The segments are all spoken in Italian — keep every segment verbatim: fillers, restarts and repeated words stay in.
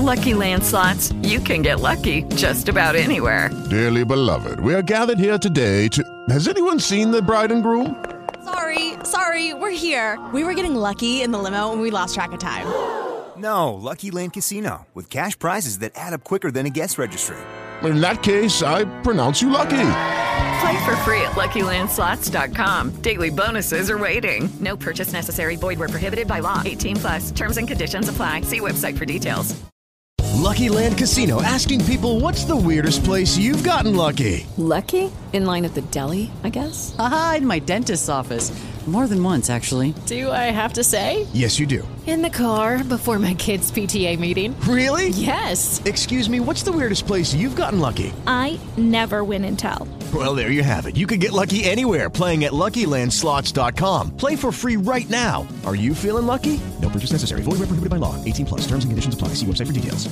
Lucky Land Slots, you can get lucky just about anywhere. Dearly beloved, we are gathered here today to... Has anyone seen the bride and groom? Sorry, sorry, we're here. We were getting lucky in the limo and we lost track of time. No, Lucky Land Casino, with cash prizes that add up quicker than a guest registry. In that case, I pronounce you lucky. Play for free at Lucky Land Slots dot com. Daily bonuses are waiting. No purchase necessary. Void where prohibited by law. eighteen plus. Terms and conditions apply. See website for details. Lucky Land Casino, asking people, what's the weirdest place you've gotten lucky? Lucky? In line at the deli, I guess? Aha, in my dentist's office. More than once, actually. Do I have to say? Yes, you do. In the car before my kids' P T A meeting. Really? Yes. Excuse me, what's the weirdest place you've gotten lucky? I never win and tell. Well, there you have it. You can get lucky anywhere, playing at Lucky Land Slots dot com. Play for free right now. Are you feeling lucky? No purchase necessary. Void where prohibited by law. eighteen plus. Terms and conditions apply. See website for details.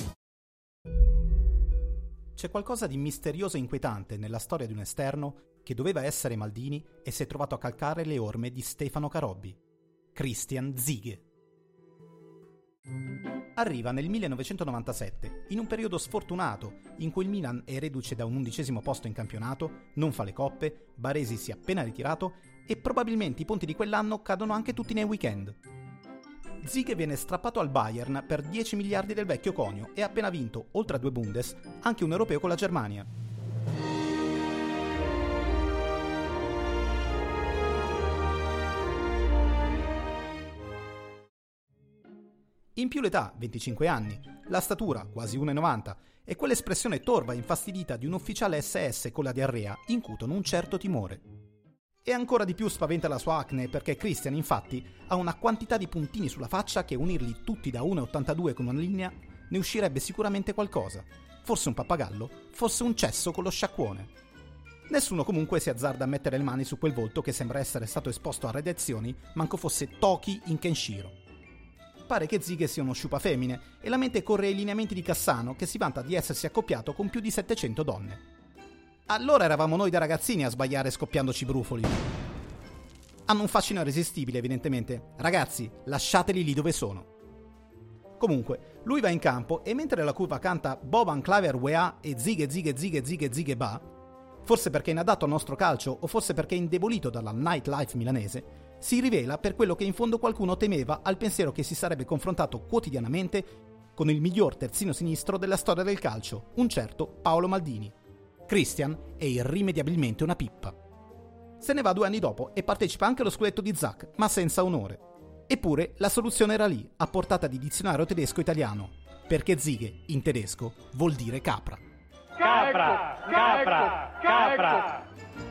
C'è qualcosa di misterioso e inquietante nella storia di un esterno che doveva essere Maldini e si è trovato a calcare le orme di Stefano Carobbi. Christian Ziege. Arriva nel millenovecentonovantasette, in un periodo sfortunato in cui il Milan è reduce da un undicesimo posto in campionato, non fa le coppe, Baresi si è appena ritirato e probabilmente i ponti di quell'anno cadono anche tutti nei weekend. Ziege viene strappato al Bayern per dieci miliardi del vecchio conio e ha appena vinto, oltre a due Bundes, anche un europeo con la Germania. In più l'età, venticinque anni, la statura, quasi uno virgola novanta, e quell'espressione torva e infastidita di un ufficiale esse esse con la diarrea incutono un certo timore. E ancora di più spaventa la sua acne perché Christian, infatti, ha una quantità di puntini sulla faccia che unirli tutti da uno virgola ottantadue con una linea ne uscirebbe sicuramente qualcosa. Forse un pappagallo, forse un cesso con lo sciacquone. Nessuno comunque si azzarda a mettere le mani su quel volto che sembra essere stato esposto a radiazioni, manco fosse Toki in Kenshiro. Pare che Ziege sia uno sciupafemmine e la mente corre ai lineamenti di Cassano, che si vanta di essersi accoppiato con più di settecento donne. Allora eravamo noi da ragazzini a sbagliare scoppiandoci brufoli. Hanno un fascino irresistibile, evidentemente. Ragazzi, lasciateli lì dove sono. Comunque, lui va in campo e mentre la curva canta Boban Claver Weah e Ziege Ziege Ziege Ziege Ziege Ba, forse perché è inadatto al nostro calcio o forse perché è indebolito dalla nightlife milanese, si rivela per quello che in fondo qualcuno temeva al pensiero che si sarebbe confrontato quotidianamente con il miglior terzino sinistro della storia del calcio, un certo Paolo Maldini. Christian è irrimediabilmente una pippa. Se ne va due anni dopo e partecipa anche allo scudetto di Zach, ma senza onore. Eppure la soluzione era lì, a portata di dizionario tedesco-italiano, perché Ziege, in tedesco, vuol dire capra. Capra, capra, capra.